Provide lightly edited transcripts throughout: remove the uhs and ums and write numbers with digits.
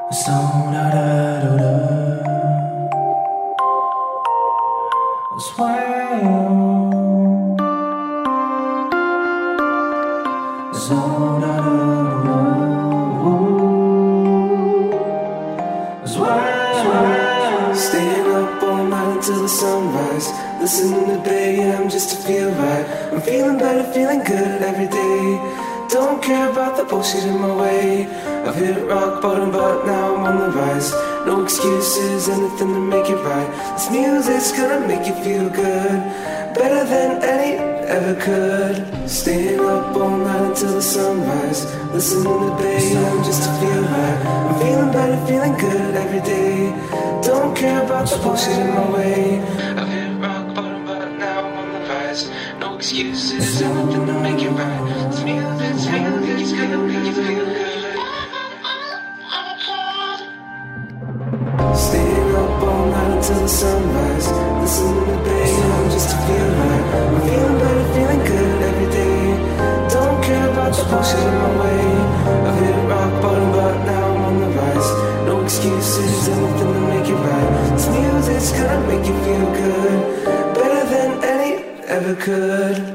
So da da da da. Sway. So da da da. Sway. Staying up all night until the sunrise. Listening to Bay AM just to feel right. I'm feeling better, feeling good every day. Don't care about the bullshit in my way. I've hit rock bottom, but now I'm on the rise. No excuses, anything to make it right. This music's gonna make you feel good, better than any ever could. Staying up all night until the sunrise. Listening to Bay AM just to feel right. I'm feeling better, feeling good every day. Don't care about the bullshit in my way. I've hit rock bottom, but now I'm on the rise. No excuses, anything to make it right. This music's gonna make you feel good. Staying up all night until the sunrise. Listening to Bay AM just to feel right. I'm feeling better, feeling good every day. Don't care about the bullshit in my way. I've hit rock bottom, but now I'm on the rise. No excuses, anything to make it right. This music's gonna make you feel good, better than any ever could.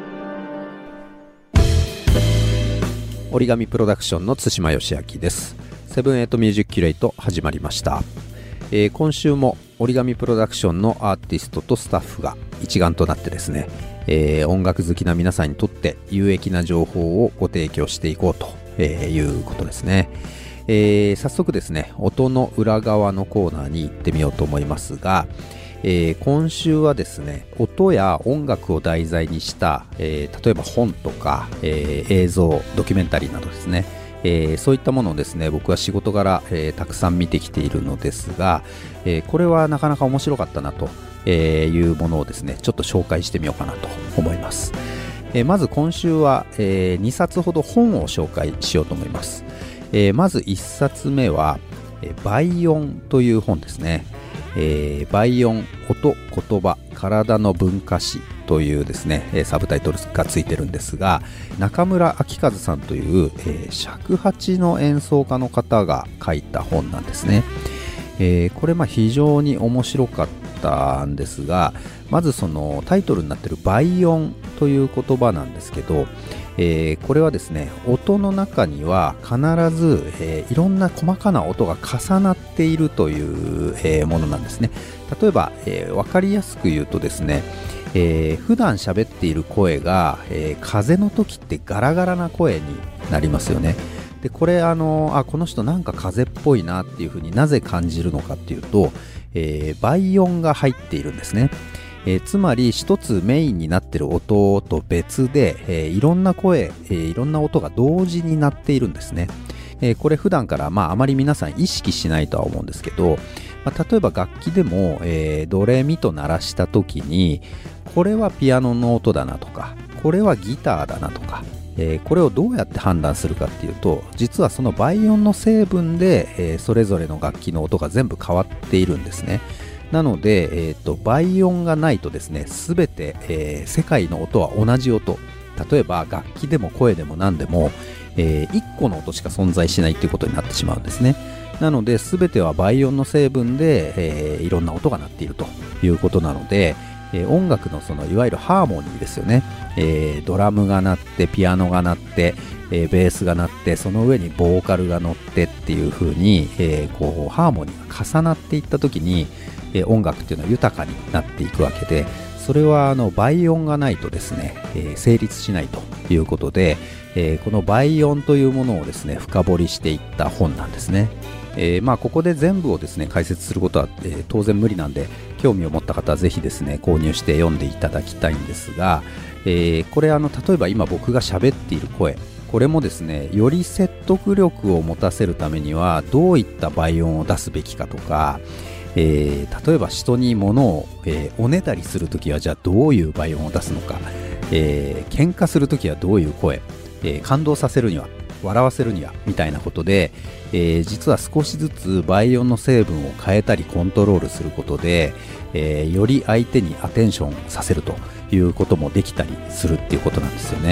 折り紙プロダクションの対馬義明です。セブンエイトミュージックキュレイト始まりました。今週も折り紙プロダクションのアーティストとスタッフが一丸となってですね、音楽好きな皆さんにとって有益な情報をご提供していこうということですね。早速ですね、音の裏側のコーナーに行ってみようと思いますが、今週はですね、音や音楽を題材にした、例えば本とか、映像、ドキュメンタリーなどですね、そういったものをですね、僕は仕事柄、たくさん見てきているのですが、これはなかなか面白かったなというものをですね、ちょっと紹介してみようかなと思います。まず今週は、2冊ほど本を紹介しようと思います。まず1冊目は、倍音という本ですね。倍音、音、言葉、体の文化史というですね、サブタイトルがついてるんですが、中村明和さんという、尺八の演奏家の方が書いた本なんですね。これ非常に面白かったんですが、まずそのタイトルになっている倍音という言葉なんですけど、これはですね、音の中には必ず、いろんな細かな音が重なっているという、ものなんですね。例えば、分かりやすく言うとですね、普段喋っている声が、風の時ってガラガラな声になりますよね。でこれこの人なんか風っぽいなっていうふうになぜ感じるのかっていうと、倍音が入っているんですね。つまり一つメインになっている音と別で、いろんな声、いろんな音が同時になっているんですね。これ普段からあまり皆さん意識しないとは思うんですけど、例えば楽器でも、ドレミと鳴らした時にこれはピアノの音だなとか、これはギターだなとか、これをどうやって判断するかっていうと、実はその倍音の成分で、それぞれの楽器の音が全部変わっているんですね。なので、倍音がないとですね、すべて、世界の音は同じ音。例えば楽器でも声でも何でも、1個の音しか存在しないということになってしまうんですね。なので全ては倍音の成分で、いろんな音が鳴っているということなので、音楽のそのいわゆるハーモニーですよね。ドラムが鳴ってピアノが鳴って、ベースが鳴ってその上にボーカルが乗ってっていう風に、こうハーモニーが重なっていった時に、音楽っていうのは豊かになっていくわけで、それは倍音がないとですね、成立しないということで、この倍音というものをですね、深掘りしていった本なんですね。ここで全部をですね解説することは、当然無理なんで、興味を持った方はぜひですね購入して読んでいただきたいんですが、これ例えば今僕が喋っている声、これもですね、より説得力を持たせるためにはどういった倍音を出すべきかとか、例えば人に物を、おねだりするときはじゃあどういう倍音を出すのか、喧嘩するときはどういう声、感動させるには、笑わせるにはみたいなことで、実は少しずつ倍音の成分を変えたりコントロールすることで、より相手にアテンションさせるということもできたりするっていうことなんですよね。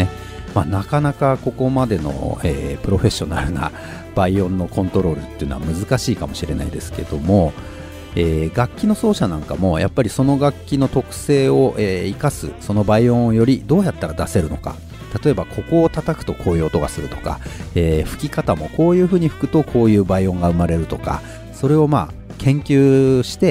なかなかここまでの、プロフェッショナルな倍音のコントロールっていうのは難しいかもしれないですけども、楽器の奏者なんかもやっぱりその楽器の特性を、生かすその倍音をよりどうやったら出せるのか、例えばここを叩くとこういう音がするとか、吹き方もこういう風に吹くとこういう倍音が生まれるとか、それを研究して、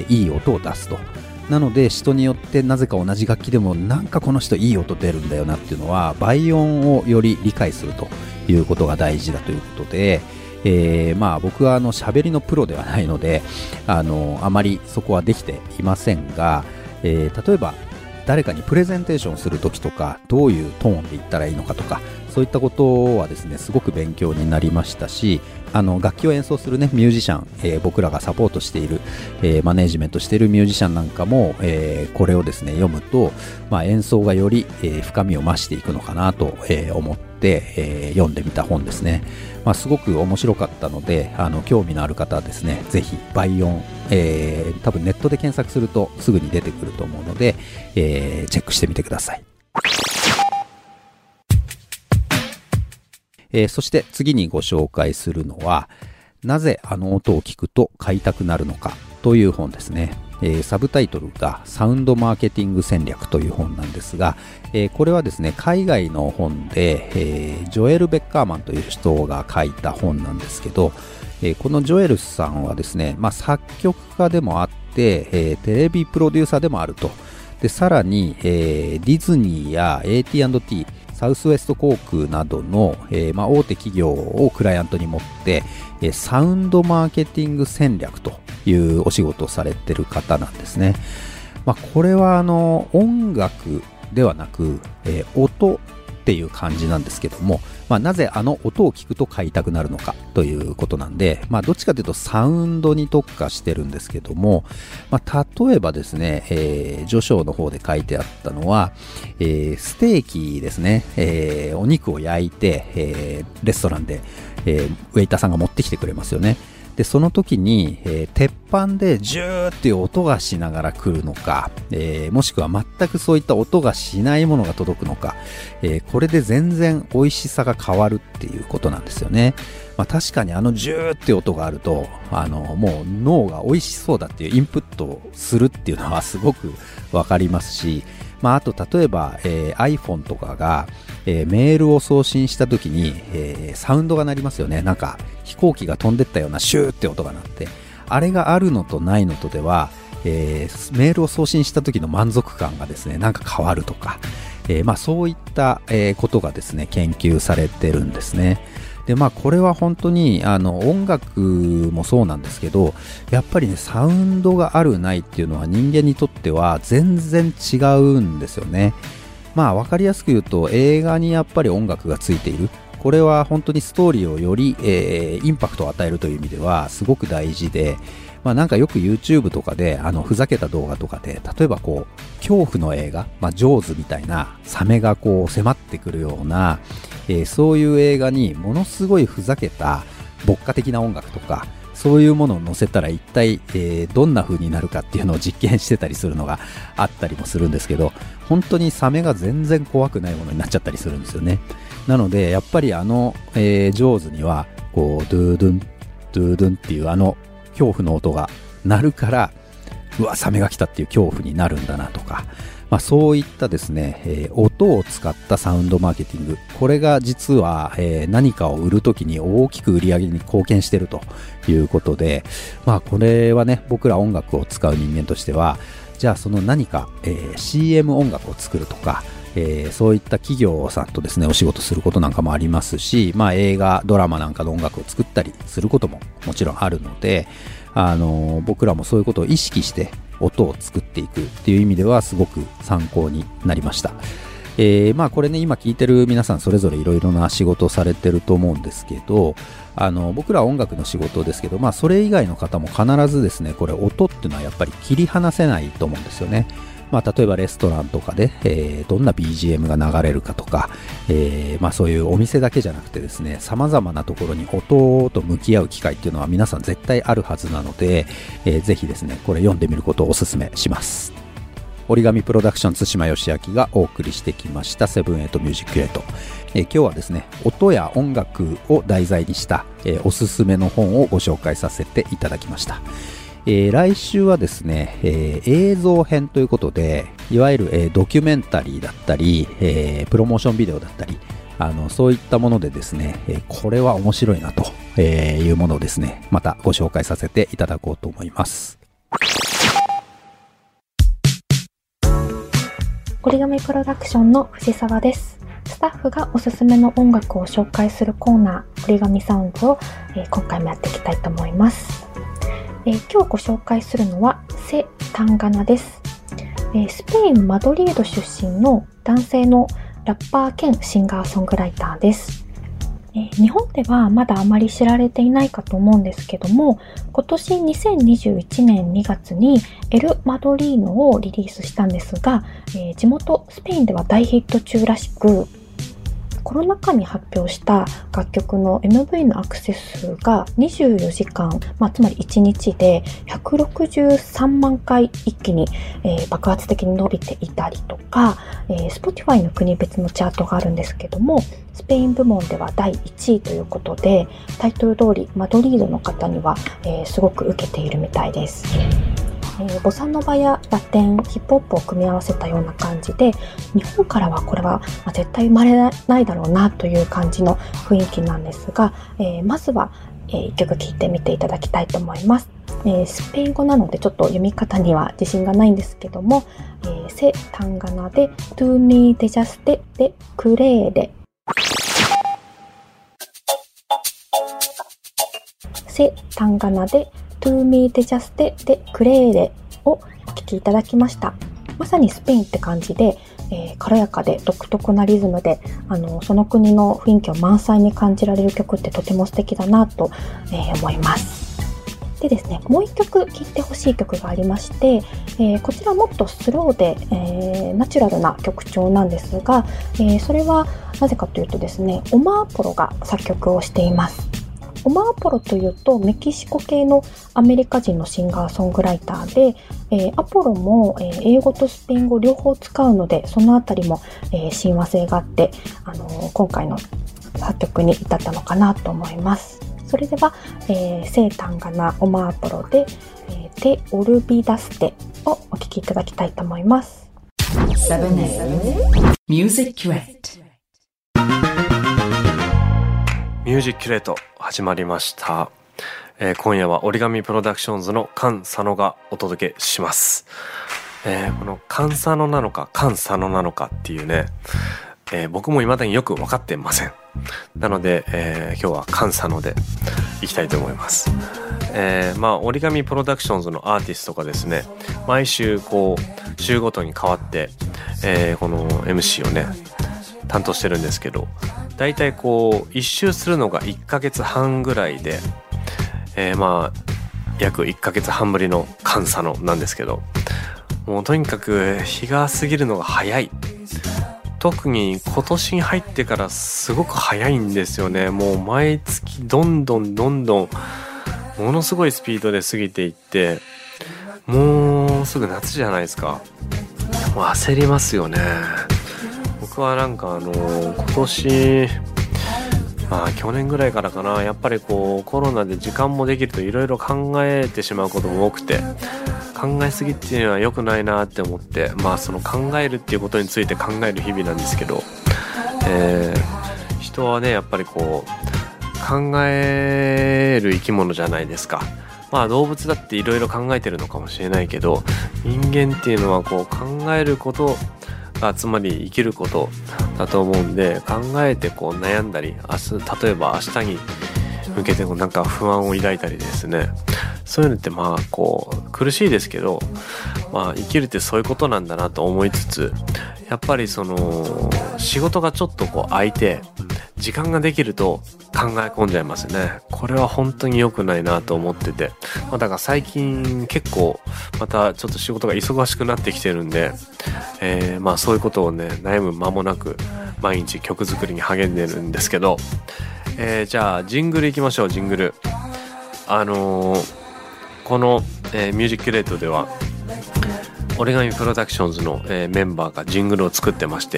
いい音を出すと。なので人によってなぜか同じ楽器でもなんかこの人いい音出るんだよなっていうのは、倍音をより理解するということが大事だということで、僕は喋りのプロではないのであまりそこはできていませんが、例えば誰かにプレゼンテーションするときとか、どういうトーンで言ったらいいのかとか、そういったことはですねすごく勉強になりましたし、楽器を演奏するねミュージシャン、僕らがサポートしている、マネージメントしているミュージシャンなんかも、これをですね読むと、演奏がより、深みを増していくのかなと、思って、読んでみた本ですね。すごく面白かったので、興味のある方はですねぜひ倍音、多分ネットで検索するとすぐに出てくると思うので、チェックしてみてください。そして次にご紹介するのは、なぜあの音を聞くと買いたくなるのかという本ですね。サブタイトルがサウンドマーケティング戦略という本なんですが、これはですね海外の本で、ジョエル・ベッカーマンという人が書いた本なんですけど、このジョエルさんはですね、作曲家でもあって、テレビプロデューサーでもあると。でさらに、ディズニーや AT&T、サウスウエスト航空などの、大手企業をクライアントに持って、サウンドマーケティング戦略というお仕事をされている方なんですね。これは音楽ではなく、音っていう感じなんですけども、なぜあの音を聞くと買いたくなるのかということなんで、どっちかというとサウンドに特化してるんですけども、例えばですね、序章の方で書いてあったのは、ステーキですね、お肉を焼いて、レストランで、ウェイターさんが持ってきてくれますよね。でその時に、鉄板でジューっていう音がしながら来るのか、もしくは全くそういった音がしないものが届くのか、これで全然美味しさが変わるっていうことなんですよね。確かにジューって音があるともう脳が美味しそうだっていうインプットをするっていうのはすごくわかりますし、あと例えば、iPhone とかが、メールを送信した時に、サウンドが鳴りますよね。なんか飛行機が飛んでったようなシューって音が鳴って、あれがあるのとないのとでは、メールを送信した時の満足感がですねなんか変わるとか、そういった、ことがですね研究されてるんですね。でこれは本当に音楽もそうなんですけど、やっぱりねサウンドがあるないっていうのは人間にとっては全然違うんですよね。わかりやすく言うと映画にやっぱり音楽がついている、これは本当にストーリーをより、インパクトを与えるという意味ではすごく大事で、なんかよく YouTube とかでふざけた動画とかで、例えば恐怖の映画、ジョーズみたいなサメが迫ってくるような、そういう映画にものすごいふざけた牧歌的な音楽とかそういうものを載せたら一体、どんな風になるかっていうのを実験してたりするのがあったりもするんですけど、本当にサメが全然怖くないものになっちゃったりするんですよね。なのでやっぱりジョーズにはドゥードゥンドゥードゥンっていう恐怖の音が鳴るから、うわサメが来たっていう恐怖になるんだなとか、そういったですね、音を使ったサウンドマーケティング、これが実は、何かを売るときに大きく売り上げに貢献しているということで、これはね僕ら音楽を使う人間としては、じゃあその何か、CM 音楽を作るとか、そういった企業さんとですねお仕事することなんかもありますし、映画ドラマなんかの音楽を作ったりすることももちろんあるので、僕らもそういうことを意識して音を作っていくっていう意味ではすごく参考になりました。これね今聞いてる皆さんそれぞれいろいろな仕事をされてると思うんですけど、僕らは音楽の仕事ですけど、それ以外の方も必ずですねこれ音っていうのはやっぱり切り離せないと思うんですよね。例えばレストランとかで、どんな BGM が流れるかとか、そういうお店だけじゃなくてですね様々なところに音と向き合う機会っていうのは皆さん絶対あるはずなので、ぜひですねこれ読んでみることをお勧めします。 折り紙プロダクション対馬義明がお送りしてきましたセブンエイトミュージックレート。今日はですね、音や音楽を題材にした、おすすめの本をご紹介させていただきました。来週はですね、映像編ということで、いわゆる、ドキュメンタリーだったり、プロモーションビデオだったり、そういったものでですね、これは面白いなというものをですね、またご紹介させていただこうと思います。 折り紙プロダクションの藤沢です。スタッフがおすすめの音楽を紹介するコーナー、折り紙サウンズを、今回もやっていきたいと思います。今日ご紹介するのはセ・タンガナです。スペイン・マドリード出身の男性のラッパー兼シンガーソングライターです。日本ではまだあまり知られていないかと思うんですけども、今年2021年2月にエル・マドリーノをリリースしたんですが、地元スペインでは大ヒット中らしく、コロナ禍に発表した楽曲の MV のアクセス数が24時間、つまり1日で163万回一気に、爆発的に伸びていたりとか、Spotify の国別のチャートがあるんですけども、スペイン部門では第1位ということで、タイトル通りマドリードの方には、すごく受けているみたいです。ボサノバやラテン、ヒップホップを組み合わせたような感じで、日本からはこれは絶対生まれないだろうなという感じの雰囲気なんですが、まずは一曲聴いてみていただきたいと思います。スペイン語なのでちょっと読み方には自信がないんですけども、セ・タンガナでトゥーミーデジャステでクレーレ、セ・タンガナでトゥーミーデジャステでクレーレをお聴きいただきました。まさにスペインって感じで、軽やかで独特なリズムで、その国の雰囲気を満載に感じられる曲ってとても素敵だなと、思います。でですね、もう一曲聴いてほしい曲がありまして、こちらもっとスローで、ナチュラルな曲調なんですが、それはなぜかというとですね、オマーポロが作曲をしています。オマーポロというとメキシコ系のアメリカ人のシンガーソングライターで、アポロも、英語とスペイン語両方使うので、そのあたりも、親和性があって、今回の作曲に至ったのかなと思います。それでは、セ・タンガナ・オマーポロで、テ・オルビダステをお聴きいただきたいと思います。 ミュージックキュレート。 ミュージックキュレート始まりました。今夜は折り紙プロダクションズの菅佐野がお届けします。この菅佐野なのか菅佐野なのかっていうね、僕も未だによく分かってません。なので、今日は菅佐野でいきたいと思います。折り紙プロダクションズのアーティストがですね、毎週こう週ごとに変わって、この MC をね担当してるんですけど、だいたいこう一周するのが1ヶ月半ぐらいで、約1ヶ月半ぶりの菅佐野なんですけど、もうとにかく日が過ぎるのが早い。特に今年に入ってからすごく早いんですよね。もう毎月どんどんものすごいスピードで過ぎていって、もうすぐ夏じゃないですか。もう焦りますよね。僕はなんか今年去年ぐらいからかな、やっぱりこうコロナで時間もできるといろいろ考えてしまうことも多くて、考えすぎっていうのは良くないなって思って、その考えるっていうことについて考える日々なんですけど、人はねやっぱりこう考える生き物じゃないですか。動物だっていろいろ考えてるのかもしれないけど、人間っていうのはこう考えることがつまり生きることだと思うんで、考えてこう悩んだり、例えば明日に向けてなんか不安を抱いたりですね、そういうのってこう苦しいですけど、生きるってそういうことなんだなと思いつつ、やっぱりその仕事がちょっとこう空いて時間ができると考え込んじゃいますね。これは本当に良くないなと思ってて、だから最近結構またちょっと仕事が忙しくなってきてるんで、そういうことをね悩む間もなく毎日曲作りに励んでるんですけど、じゃあジングルいきましょう。ジングルこの、ミュージックキュレートでは折り紙プロダクションズの、メンバーがジングルを作ってまして、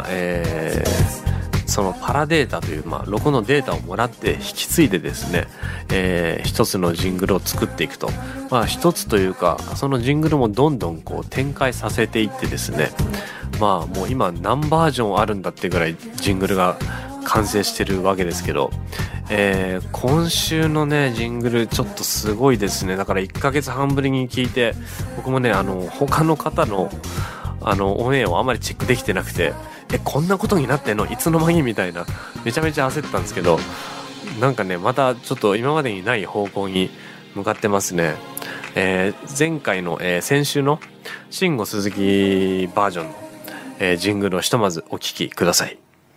そのパラデータという、ロゴのデータをもらって引き継いでですね、一つのジングルを作っていくと、一つというかそのジングルもどんどんこう展開させていってですね、もう今何バージョンあるんだってぐらいジングルが完成してるわけですけど、今週のねジングルちょっとすごいですね。だから1ヶ月半ぶりに聞いて、僕もね他の方のオンエアをあまりチェックできてなくて、こんなことになってんのいつの間にみたいな、めちゃめちゃ焦ってたんですけど、なんかねまたちょっと今までにない方向に向かってますね。前回の、先週の慎吾鈴木バージョンの、ジングルをひとまずお聴きください。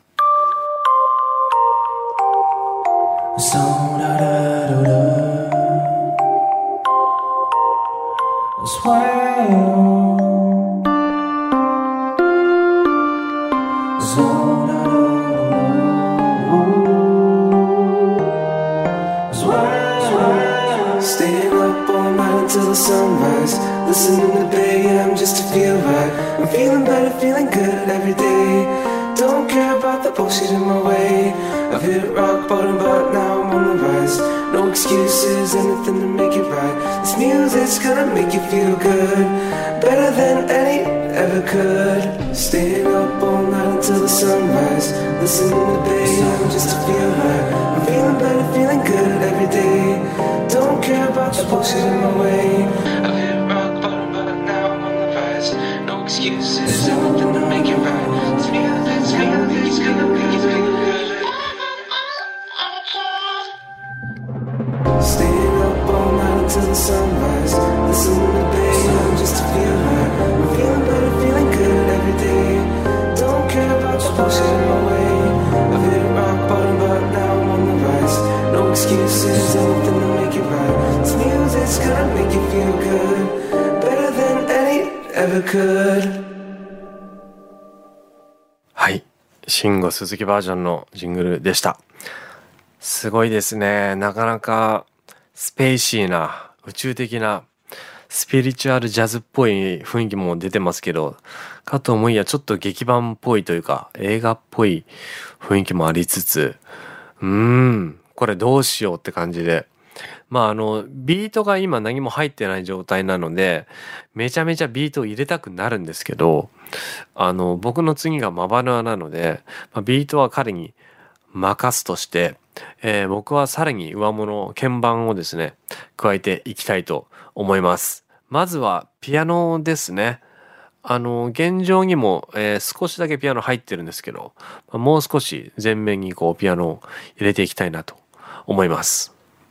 Staying up all night until the sunrise, listening to Bay AM just to feel right. I'm feeling better, feeling good every day. Don't care about the bullshit in my way. I've hit rock bottom, but now I'm on the rise. No excuses, anything to make it right. This music's gonna make you feel good, better than any ever could. Staying up all night until the sunrise, listening to Bay AM just to feel right. I'm feeling better, feeling good every day. Don't care about the bullshit in my way. I've hit rock bottom, but now I'm on the rise. No excuses, anything to make it right. This music's gonna make you feel good. Staying up all night until the sunrise, listening to Bay AM just to feel right. I'm feeling better, feeling good every day. Don't care about the bullshit in my way. I've hit rock bottom, but now I'm on the rise. No excuses, anything to make it right. This music's gonna make you feel good, better than any ever could. はい、慎吾鈴木バージョンのジングルでした。すごいですね。なかなかスペーシーな宇宙的なスピリチュアルジャズっぽい雰囲気も出てますけど、かと思いやちょっと劇版っぽいというか映画っぽい雰囲気もありつつ、これどうしようって感じで、ビートが今何も入ってない状態なのでめちゃめちゃビートを入れたくなるんですけど、僕の次がマバヌアなので、ビートは彼に任すとして、僕はさらに上物鍵盤をですね加えていきたいと思います。まずはピアノですね。現状にも、少しだけピアノ入ってるんですけど、もう少し前面にこうピアノを入れていきたいなと思います。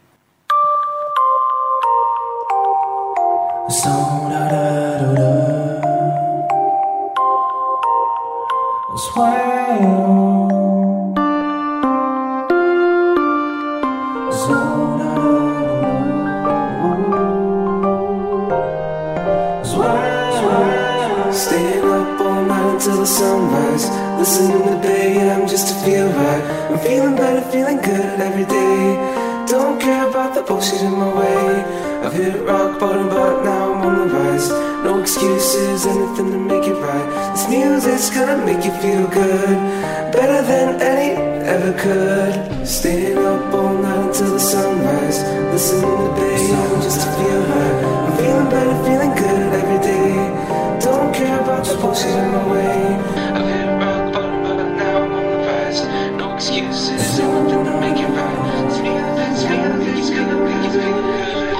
Staying up all night until the sunrise, listening to Bay AM just to feel right. I'm feeling better, feeling good every day. Don't care about the bullshit in my way. I've hit rock bottom, but now I'm on the rise. No excuses, anything to make it right. This music's gonna make you feel good, better than any ever could. Staying up all night until the sunrise, listening to Bay AM just to feel right. I'm feeling better, feeling good every day. Don't care about the bullshit in my way. I've hit rock bottom, but now I'm on the rise. No excuses, anything to make it right. This music's gonna make you feel good.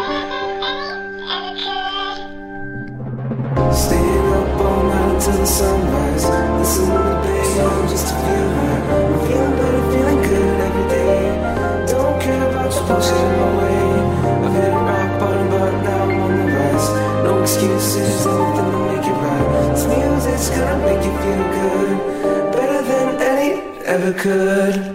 Staying up all night until the sunrise, listening to Bay AM just to feel right. I'm feeling better, feeling good every day. Don't care about the bullshit in my way. I've hit rock bottom, but now I'm on the rise. No excuses, anything to make it right. This music's gonna make you feel good, better than any ever could.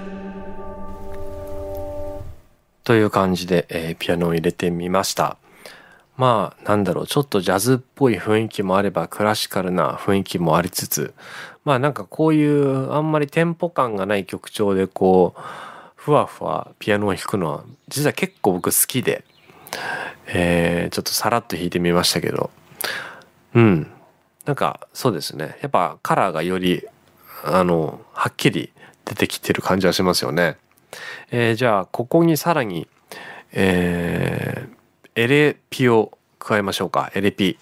という感じで、ピアノを入れてみました。ちょっとジャズっぽい雰囲気もあればクラシカルな雰囲気もありつつ、こういうあんまりテンポ感がない曲調でこうふわふわピアノを弾くのは実は結構僕好きで、ちょっとさらっと弾いてみましたけど、 なんかそうですね。やっぱカラーがよりはっきり出てきてる感じはしますよね。じゃあここにさらに、エレピを加えましょうか。エレピ。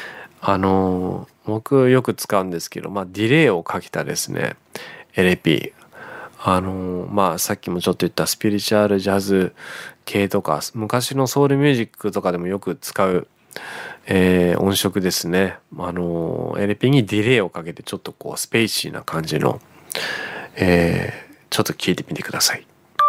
僕よく使うんですけど、ディレイをかけたですね、エレピ。さっきもちょっと言ったスピリチュアルジャズ系とか、昔のソウルミュージックとかでもよく使う、音色ですね。エレピにディレイをかけてちょっとこうスペーシーな感じの、ちょっと聞いてみてください。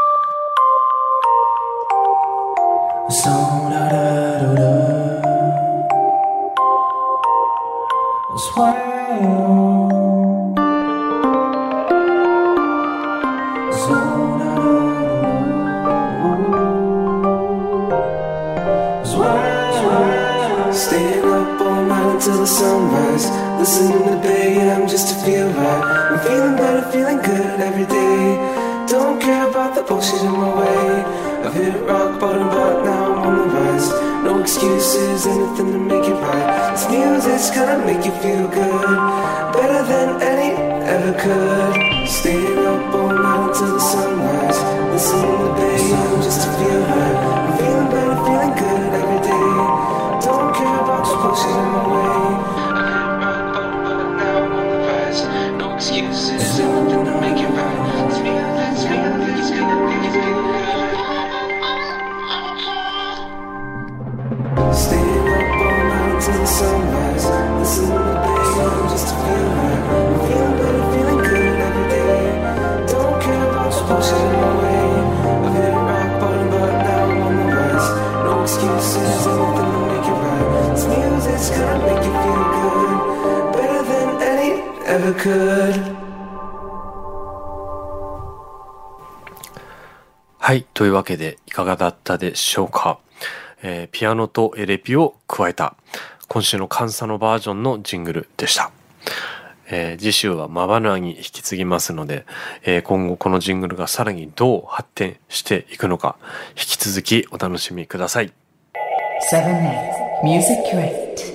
Staying up all night until the sunrise. Listening to Bay AM just to feel right. I'm feeling better, feeling good every day. Don't care about the bullshit in my way. I've hit rock bottom, but now I'm on the rise. No excuses, anything to make it right. This music's gonna make you feel good, better than any ever could. Staying up all night until the sunrise. Listening to Bay AM just to feel right. I'm feeling better, feeling good every day. Don't care about the bullshit in my way. But now I'm on the rise. No excuses, anything to make it right. It's gonna make you feel good. Staying up all night till the sunrise. Listening to Bay AM just to feel right. I'm feeling better, feeling good every day. Don't care about the bullshit in my way. I've hit rock bottom, but now I'm on the rise. No excuses, anything to make it right. This music's gonna make you feel good, better than any ever could. はい。というわけでいかがだったでしょうか。ピアノとエレピを加えた今週のカンサのバージョンのジングルでした。次週はマバナーに引き継ぎますので、今後このジングルがさらにどう発展していくのか引き続きお楽しみください。 7-8 Music Crate。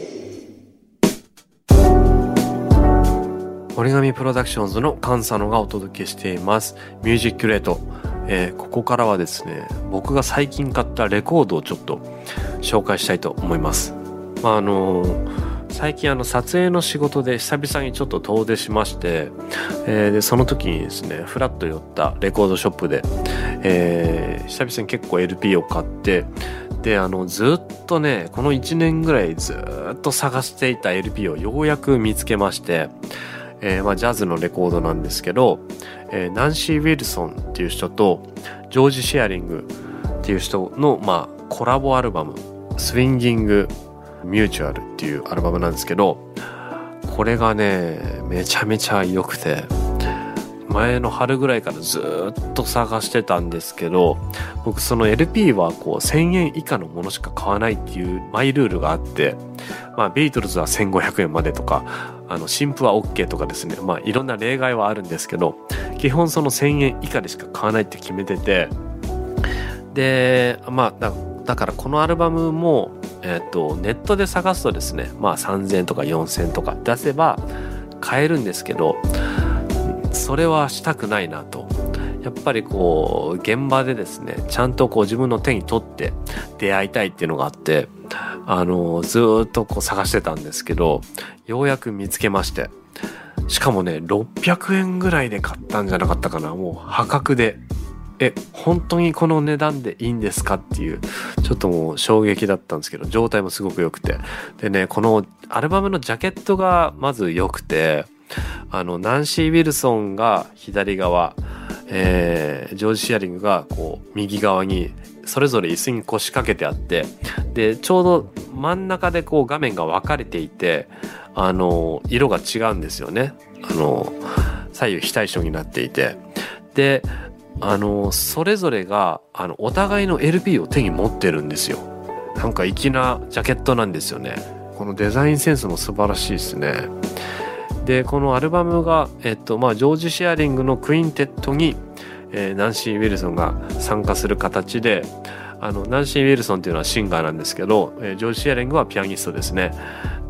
折り紙プロダクションズのカンサノがお届けしていますミュージックレート。ここからはですね、僕が最近買ったレコードをちょっと紹介したいと思います。最近撮影の仕事で久々にちょっと遠出しまして、でその時にですねフラッと寄ったレコードショップで、久々に結構 LP を買って、でずっとねこの1年ぐらいずっと探していた LP をようやく見つけまして、ジャズのレコードなんですけど、ナンシー・ウィルソンっていう人とジョージ・シェアリングっていう人の、コラボアルバムスインギング・ミューチュアルっていうアルバムなんですけど、これがねめちゃめちゃ良くて、前の春ぐらいからずっと探してたんですけど、僕その LP は1000円以下のものしか買わないっていうマイルールがあって、ビートルズは1500円までとか新譜は OK とかですね、いろんな例外はあるんですけど、基本その1000円以下でしか買わないって決めてて、でだからこのアルバムも、ネットで探すとですね、3000円とか4000円とか出せば買えるんですけど、それはしたくないなと。やっぱり現場でですねちゃんと自分の手に取って出会いたいっていうのがあって、ずっと探してたんですけど、ようやく見つけまして、しかもね600円ぐらいで買ったんじゃなかったかな。もう破格で、本当にこの値段でいいんですかっていう、ちょっともう衝撃だったんですけど、状態もすごく良くて、でねこのアルバムのジャケットがまず良くて、ナンシー・ウィルソンが左側、ジョージ・シェアリングが右側にそれぞれ椅子に腰掛けてあって、でちょうど真ん中で画面が分かれていて、色が違うんですよね。左右非対称になっていて、でそれぞれがお互いの LP を手に持ってるんですよ。なんか粋なジャケットなんですよね。このデザインセンスも素晴らしいですね。でこのアルバムが、ジョージ・シェアリングのクインテットに、ナンシー・ウィルソンが参加する形で、ナンシー・ウィルソンっていうのはシンガーなんですけど、ジョージ・シェアリングはピアニストですね。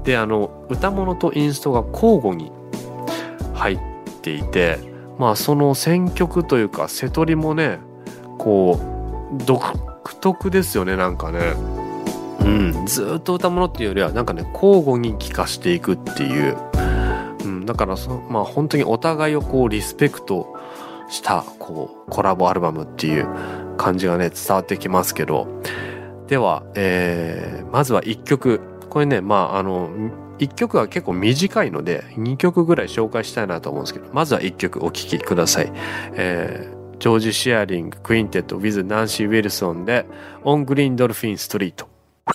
で歌物とインストが交互に入っていて、その選曲というか瀬取りもねこう独特ですよね。なんかね、ずっと歌物っていうよりはなんかね交互に聴かしていくっていう、だから本当にお互いをこうリスペクトしたこうコラボアルバムっていう感じがね伝わってきますけど、では、まずは1曲、これね1曲は結構短いので2曲ぐらい紹介したいなと思うんですけど、まずは1曲お聴きください。ジョージ・シアリング・クインテッド with ナンシー・ウィルソンで On Green Dolphin Street。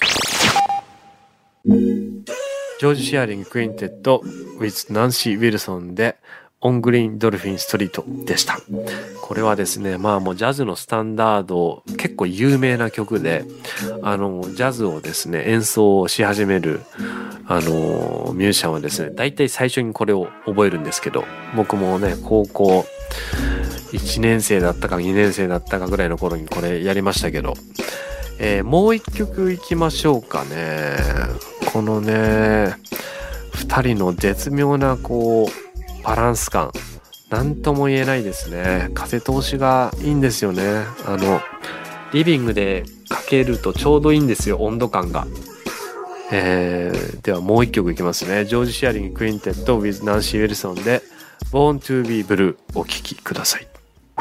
ジョージ・シアリング・クインテッド with ナンシー・ウィルソンでオングリーンドルフィンストリートでした。これはですね、もうジャズのスタンダード、結構有名な曲で、ジャズをですね、演奏し始める、ミュージシャンはですね、大体最初にこれを覚えるんですけど、僕もね、高校1年生だったか2年生だったかぐらいの頃にこれやりましたけど、もう一曲いきましょうかね。このね、二人の絶妙なこう、バランス感、なんとも言えないですね。風通しがいいんですよね。リビングでかけるとちょうどいいんですよ、温度感が。ではもう一曲いきますね。ジョージ・シアリング・クインテッド with ナンシー・ウィルソンで Born to be Blue お聴きください。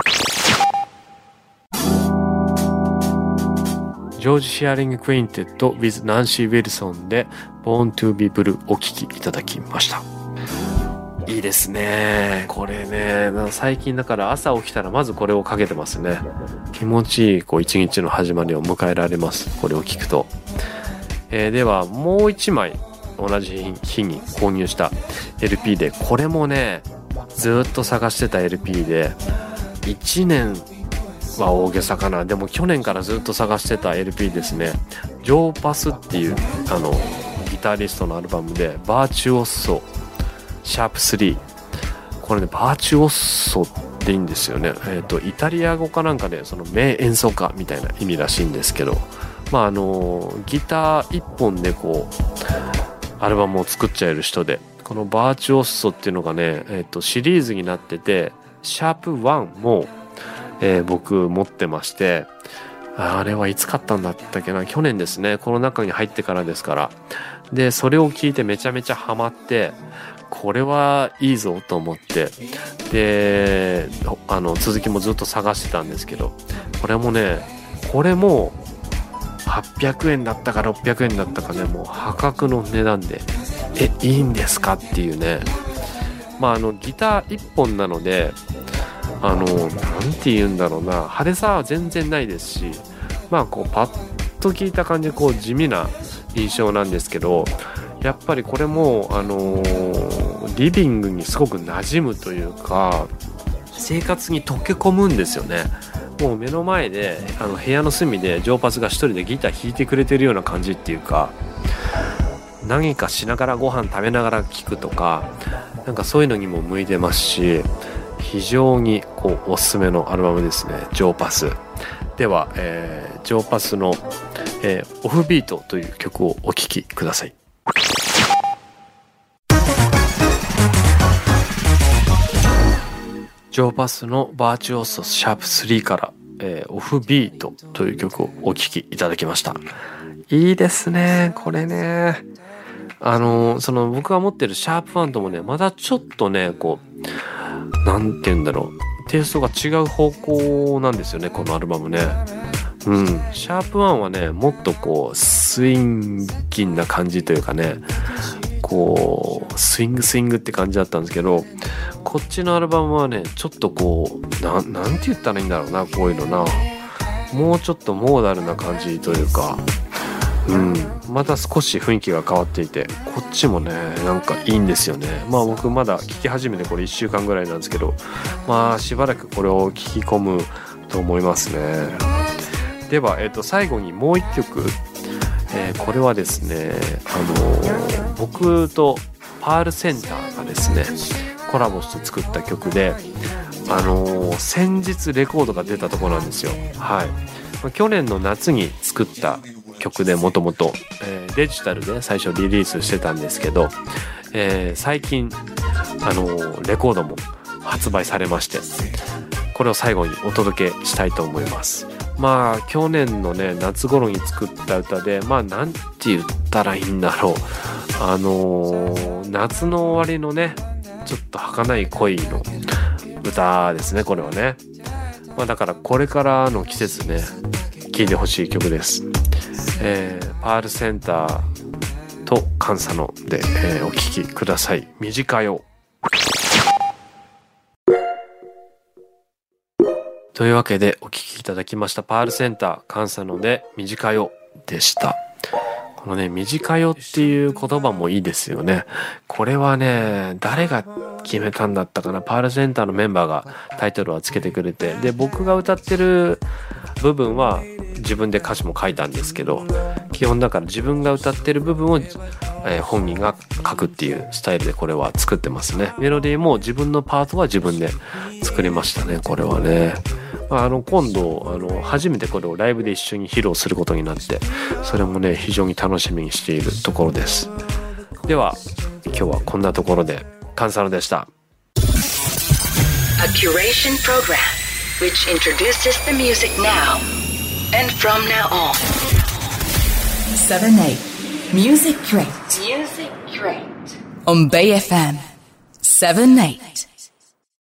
ジョージ・シアリング・クインテッド with ナンシー・ウィルソンで Born to be Blue お聴きいただきました。いいですね。これね、最近だから朝起きたらまずこれをかけてますね。気持ちいいこう一日の始まりを迎えられます。これを聞くと。ではもう一枚同じ日に購入した LP で、これもねずっと探してた LP で、1年は大げさかな。でも去年からずっと探してた LP ですね。ジョーパスっていうギタリストのアルバムでバーチュオッソシャープ3。これねバーチュオッソっていいんですよね。イタリア語かなんかでその名演奏家みたいな意味らしいんですけど、ギター一本でこうアルバムを作っちゃえる人で、このバーチュオッソっていうのがね、シリーズになってて、シャープ1も、僕持ってまして、あれはいつ買ったんだったっけな、去年ですね。コロナ禍に入ってからですから。でそれを聞いてめちゃめちゃハマって、これはいいぞと思って、で続きもずっと探してたんですけど、これも800円だったか600円だったかね、もう破格の値段でいいんですかっていうね。ギター1本なのでなんて言うんだろうな、派手さは全然ないですし、こうパッと聞いた感じこう地味な印象なんですけど、やっぱりこれもリビングにすごく馴染むというか、生活に溶け込むんですよね。もう目の前で部屋の隅でジョーパスが一人でギター弾いてくれてるような感じっていうか、何かしながらご飯食べながら聴くとか、なんかそういうのにも向いてますし、非常にこうおすすめのアルバムですね、ジョーパス。では、ジョーパスの、オフビートという曲をお聴きください。ジョーパスのバーチュオッソシャープ3から、オフビートという曲をお聴きいただきました。いいですね、これね。僕が持ってるシャープ1ともね、まだちょっとね、こう、なんて言うんだろう、テイストが違う方向なんですよね、このアルバムね。シャープ1はね、もっとこう、スインギンな感じというかね、こう、スイングって感じだったんですけど、こっちのアルバムはね、ちょっとこう、なんて言ったらいいんだろうな、こういうのな。もうちょっとモーダルな感じというか、また少し雰囲気が変わっていて、こっちもねなんかいいんですよね。僕まだ聴き始めてこれ1週間ぐらいなんですけど、しばらくこれを聴き込むと思いますね。では、最後にもう一曲、これはですね僕とパールセンターがですねコラボして作った曲で、先日レコードが出たところなんですよ。去年の夏に作った曲でもともとデジタルで最初リリースしてたんですけど、最近レコードも発売されまして、これを最後にお届けしたいと思います。まあ去年のね夏頃に作った歌で、まあなんて言ったらいいんだろう、夏の終わりのねちょっと儚い恋の歌ですね、これはね。まあだからこれからの季節ね聴いてほしい曲です。パールセンターとカンサノで、お聴きください。短よ。というわけでお聴きいただきましたパールセンターカンサノで短よでした。このね短よっていう言葉もいいですよね。これはね誰が決めたんだったかな。パールセンターのメンバーがタイトルをつけてくれて、で僕が歌ってる部分は自分で歌詞も書いたんですけど、基本だから自分が歌ってる部分を、本人が書くっていうスタイルでこれは作ってますね。メロディーも自分のパートは自分で作りましたね、これはね。今度初めてこれをライブで一緒に披露することになって、それもね非常に楽しみにしているところです。では今日はこんなところで、カンサノでした。 A curation program which introduces the music now and from now on. 7-8 Music Crate on Bay FM 7-8